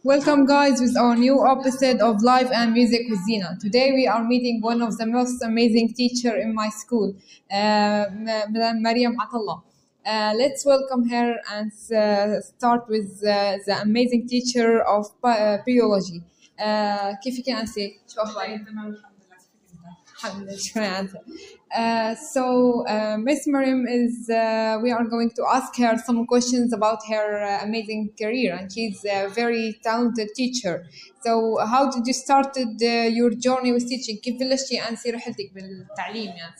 Welcome, guys, with our new episode of Life and Music with Zina. Today, we are meeting one of the most amazing teacher in my school, Madam Mariam Atallah. Let's welcome her and start with the amazing teacher of biology. كيفك يا أنسي؟ شو أخبارك؟ الحمد لله شكرا أنت. Miss Mariam is, we are going to ask her some questions about her amazing career, and she's a very talented teacher. So how did you started your journey with teaching? كيف بلشتي أنسي رحلتك بالتعليم يعني؟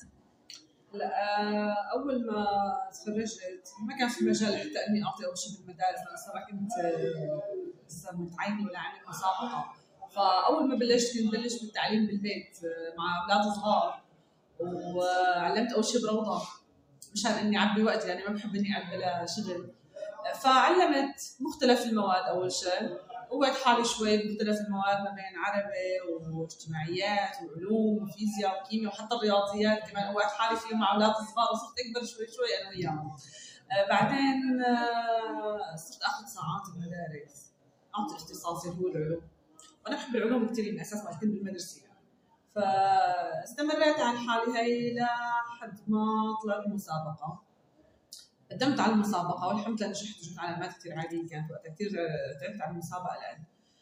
أول ما تخرجت ما كان في مجال حتى إني أعطي أول شيء بالمدارس، أنا صراحة كنت لسه متعينة ولا عاملة مسابقة. فأول ما بلشت كنت بلش بالتعليم بالبيت مع أولاد صغار، وعلمت أول شيء بروضة مشان إني أعبي وقتي، يعني ما بحب إني أعبي لا شغل. فعلمت مختلف المواد أول شيء، قويت حالي شوي بمختلف المواد ما بين عربي واجتماعيات وعلوم وفيزياء وكيمياء وحتى الرياضيات كمان قويت حالي فيهم مع أولاد صغار، وصرت أكبر شوي شوي أنا وياهم. بعدين صرت أخذ ساعات بمدارس، أعطي اختصاصي هو العلوم، وأنا بحب العلوم كثير من أساس ما كنت بالمدرسة. فاستمريت على حالي هي لحد ما طلعت مسابقة، قدمت على المسابقة والحمد لله نجحت، جبت علامات كثير عالية، كانت وقتها كثير تعبت على المسابقة الآن.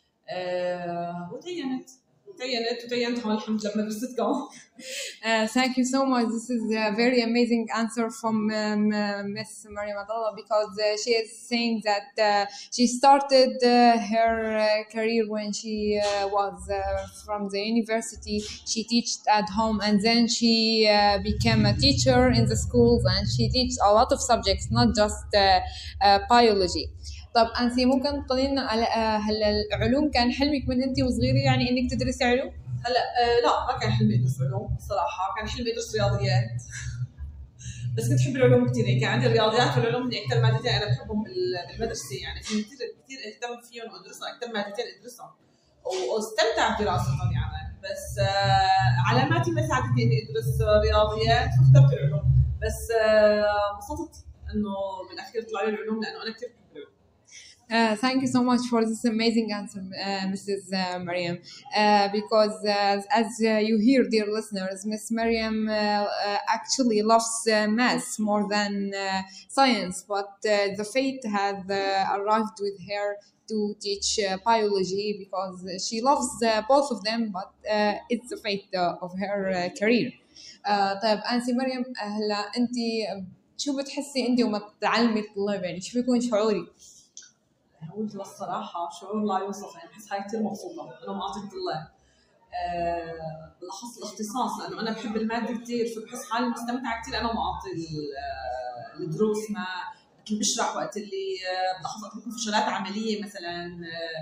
وتعينت هون الحمد لله بمدرستكم. Thank you so much. This is a very amazing answer from Miss Mariam Atallah, because she is saying that she started her career when she was from the university. She taught at home, and then she became a teacher in the schools, and she teaches a lot of subjects, not just biology. طب أنسي ممكن تقولين على هلا العلوم كان حلمك من أنت وصغيرة يعني إنك تدرسي علوم؟ هلا لا ما كان حلمي أدرس علوم صراحة، كان حلمي أدرس رياضيات. بس كنت أحب العلوم كثير، يعني كان عندي الرياضيات والعلوم من أكثر مادتين أنا بحبهم بالمدرسة، يعني كثير اهتم فيهم وأدرسهم، أكثر مادتين أدرسهم واستمتع بدراستهم يعني. بس علاماتي ما ساعدتني إني أدرس رياضيات فاخترت العلوم، بس انبسطت إنه بالأخير طلع لي العلوم لأنه أنا كثير بحب العلوم. Thank you so much for this amazing answer, Mrs. Mariam. Because as you hear, dear listeners, Miss Mariam actually loves math more than science, but the fate has arrived with her to teach biology because she loves both of them, but it's the fate of her career. طيب أنسي مريم، هلا أنت شو بتحسي أنت وما تعلمي الطلاب، يعني شو بيكون شعوري؟ قلت للصراحة شعور لا يوصف، يعني بحس هاي كثير مبسوطة أنا معطي الطلاب. بالأخص الاختصاص لأنه أنا بحب المادة كثير، فبحس حالي مستمتعة كثير أنا معطي الدروس، ما مثل بشرح وقت اللي بالأخص وقت بكون في شغلات عملية مثلا،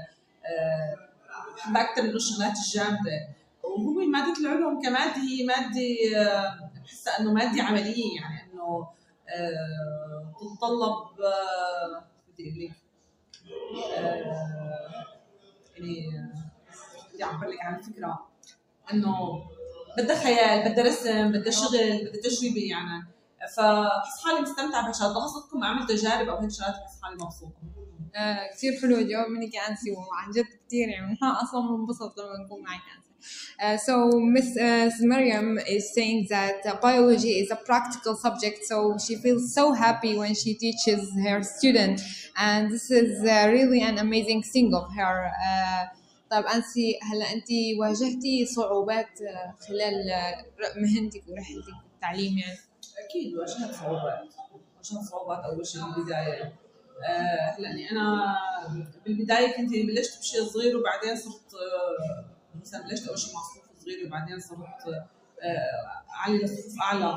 بحب أكثر من الشغلات الجامدة. وهو مادة العلوم كمادة هي مادة بحسها إنه مادة عملية، يعني إنه تتطلب بدي أقول لك يعني بدي أعبر لك عن الفكرة إنه بدها خيال، بدها رسم، بدها شغل، بدها تجربة يعني. فبحس حالي مستمتعة بهالشغلات، بخاصة ما أعمل تجارب أو هيك شغلات بحس حالي مبسوطة. كثير حلو الجواب منك يا أنسي، وعن جد كثير يعني أنا أصلاً منبسط لما نكون معك أنسي. So Miss Mariam is saying that biology is a practical subject, so she feels so happy when she teaches her student, and this is really an amazing thing of her. طيب أنسي، هلا أنت واجهتي صعوبات خلال مهنتك ورحلتك بالتعليم يعني؟ أكيد واجهت صعوبات أول شيء بالبداية. لأني أنا بالبداية كنت بلشت بشيء صغير، وبعدين صرت مثلا بلشت أول شيء مع صفوف صغير، وبعدين صرت علي لصفوف أعلى.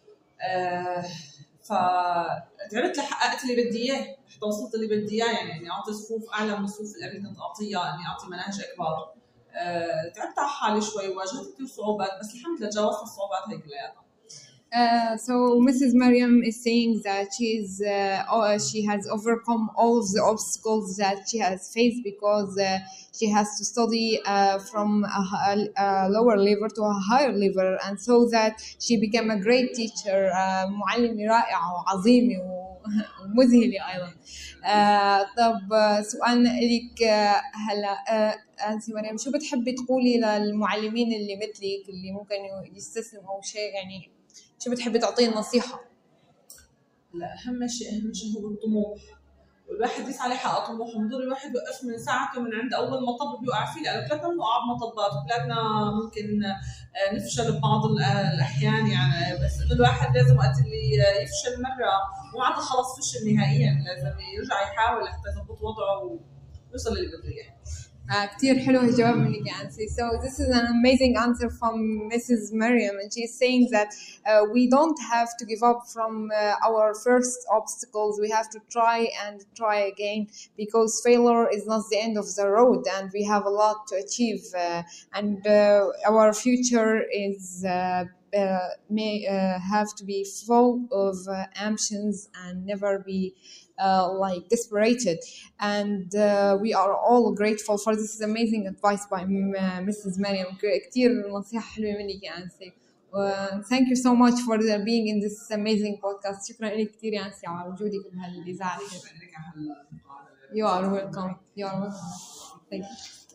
فتعبت لحققت اللي بدي إياه، حتى وصلت اللي بدي إياه، يعني إني أعطي صفوف أعلى من الصفوف اللي قبل كنت أعطيها، إني أعطي مناهج أكبر. تعبت على حالي شوي وواجهت كثير صعوبات، بس الحمد لله تجاوزت الصعوبات هي كلياتها. So Mrs. Mariam is saying that she has overcome all of the obstacles that she has faced because she has to study from a lower level to a higher level, and so that she became a great teacher, معلمة رائعة وعظيمة ومذهلة أيضا. طب سؤالنا إليك هلا أنسي مريم، شو بتحبي تقولي للمعلمين اللي مثلك اللي ممكن يستسلموا أو شيء، يعني شو بتحبي تعطيه نصيحة؟ لا، أهم شيء هو الطموح، والواحد يسعى ليحقق طموحه. بضل الواحد يوقف من ساعته من عند اول مطب بيوقع فيه، لانه كلنا بنوقع بمطبات وكلنا ممكن نفشل ببعض الاحيان يعني. بس انه الواحد لازم وقت اللي يفشل مره مو عاد خلص فشل نهائيا، لازم يرجع يحاول حتى يضبط وضعه ويوصل للي بده اياه. كتير حلو الجواب منك يا أنسي. So this is an amazing answer from Mrs. Miriam, and she's saying that we don't have to give up from our first obstacles. We have to try and try again, because failure is not the end of the road, and we have a lot to achieve, and our future is may have to be full of ambitions and never be like desperated. And we are all grateful for this amazing advice by Mrs. Mariam. كتير نصيحة حلوة منك يا أنسي. Thank you so much for being in this amazing podcast. شكرا لك كتير يا أنسي على وجودك بهالإذاعة. You are welcome. You are welcome. Thank you.